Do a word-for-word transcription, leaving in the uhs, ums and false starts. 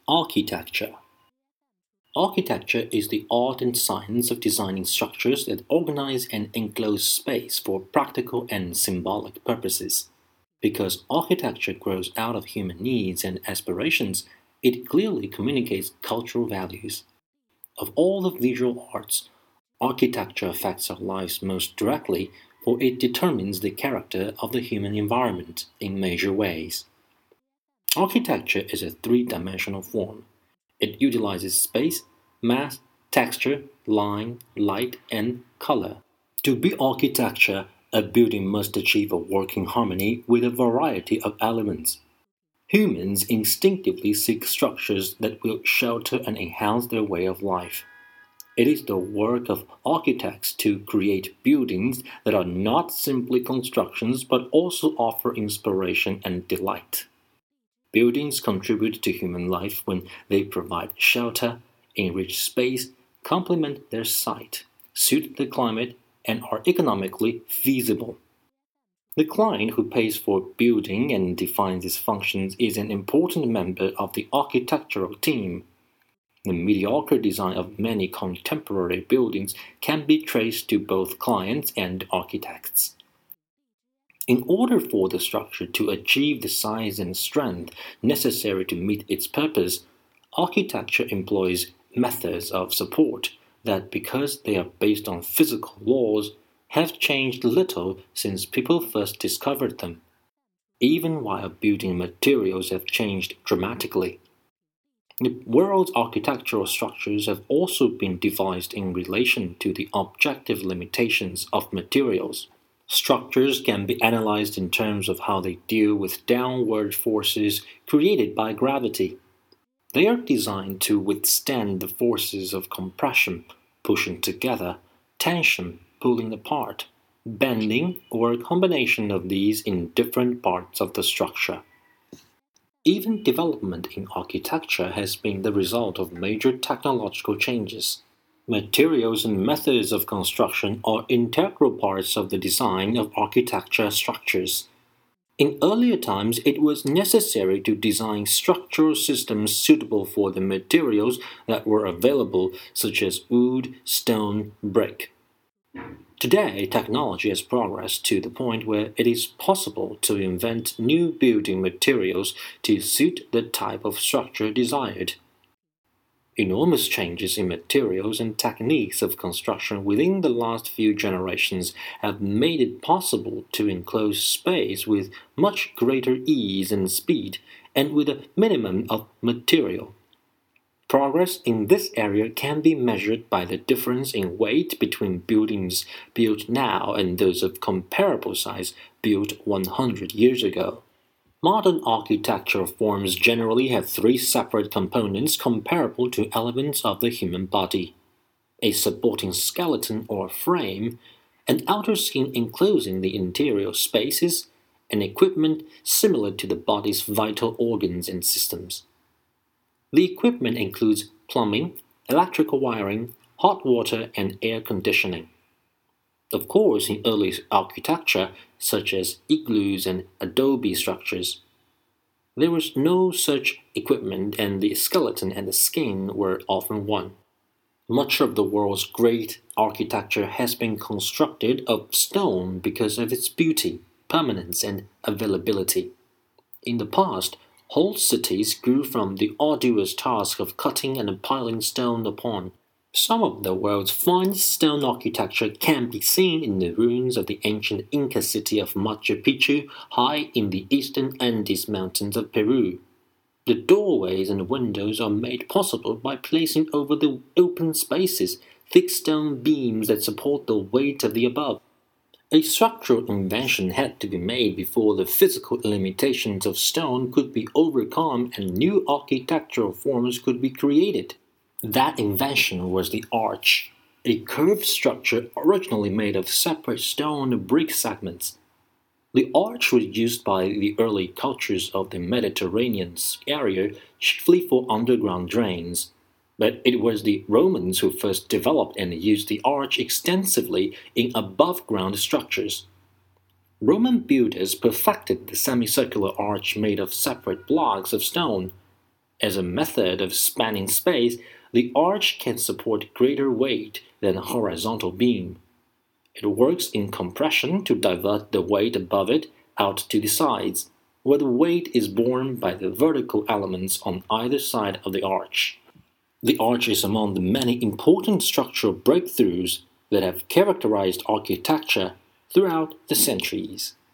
Architecture. Architecture is the art and science of designing structures that organize and enclose space for practical and symbolic purposes. Because architecture grows out of human needs and aspirations, it clearly communicates cultural values. Of all the visual arts, architecture affects our lives most directly, for it determines the character of the human environment in major ways. Architecture is a three-dimensional form. It utilizes space, mass, texture, line, light, and color. To be architecture, a building must achieve a working harmony with a variety of elements. Humans instinctively seek structures that will shelter and enhance their way of life. It is the work of architects to create buildings that are not simply constructions but also offer inspiration and delight. Buildings contribute to human life when they provide shelter, enrich space, complement their site, suit the climate, and are economically feasible. The client who pays for building and defines its functions is an important member of the architectural team. The mediocre design of many contemporary buildings can be traced to both clients and architects. In order for the structure to achieve the size and strength necessary to meet its purpose, architecture employs methods of support that, because they are based on physical laws, have changed little since people first discovered them, even while building materials have changed dramatically. The world's architectural structures have also been devised in relation to the objective limitations of materials. Structures can be analyzed in terms of how they deal with downward forces created by gravity. They are designed to withstand the forces of compression, pushing together, tension, pulling apart, bending, or a combination of these in different parts of the structure. Even development in architecture has been the result of major technological changes. Materials and methods of construction are integral parts of the design of architecture structures. In earlier times, it was necessary to design structural systems suitable for the materials that were available, such as wood, stone, brick. Today, technology has progressed to the point where it is possible to invent new building materials to suit the type of structure desired. Enormous changes in materials and techniques of construction within the last few generations have made it possible to enclose space with much greater ease and speed, and with a minimum of material. Progress in this area can be measured by the difference in weight between buildings built now and those of comparable size built one hundred years ago. Modern architectural forms generally have three separate components comparable to elements of the human body: a supporting skeleton or frame, an outer skin enclosing the interior spaces, and equipment similar to the body's vital organs and systems. The equipment includes plumbing, electrical wiring, hot water, and air conditioning. Of course, in early architecture, such as igloos and adobe structures, there was no such equipment, and the skeleton and the skin were often one. Much of the world's great architecture has been constructed of stone because of its beauty, permanence, and availability. In the past, whole cities grew from the arduous task of cutting and piling stone upon. Some of the world's finest stone architecture can be seen in the ruins of the ancient Inca city of Machu Picchu, high in the eastern Andes Mountains of Peru. The doorways and windows are made possible by placing over the open spaces thick stone beams that support the weight of the above. A structural invention had to be made before the physical limitations of stone could be overcome and new architectural forms could be created. That invention was the arch, a curved structure originally made of separate stone brick segments. The arch was used by the early cultures of the Mediterranean area chiefly for underground drains, but it was the Romans who first developed and used the arch extensively in above-ground structures. Roman builders perfected the semicircular arch made of separate blocks of stone. As a method of spanning space, the arch can support greater weight than a horizontal beam. It works in compression to divert the weight above it out to the sides, where the weight is borne by the vertical elements on either side of the arch. The arch is among the many important structural breakthroughs that have characterized architecture throughout the centuries.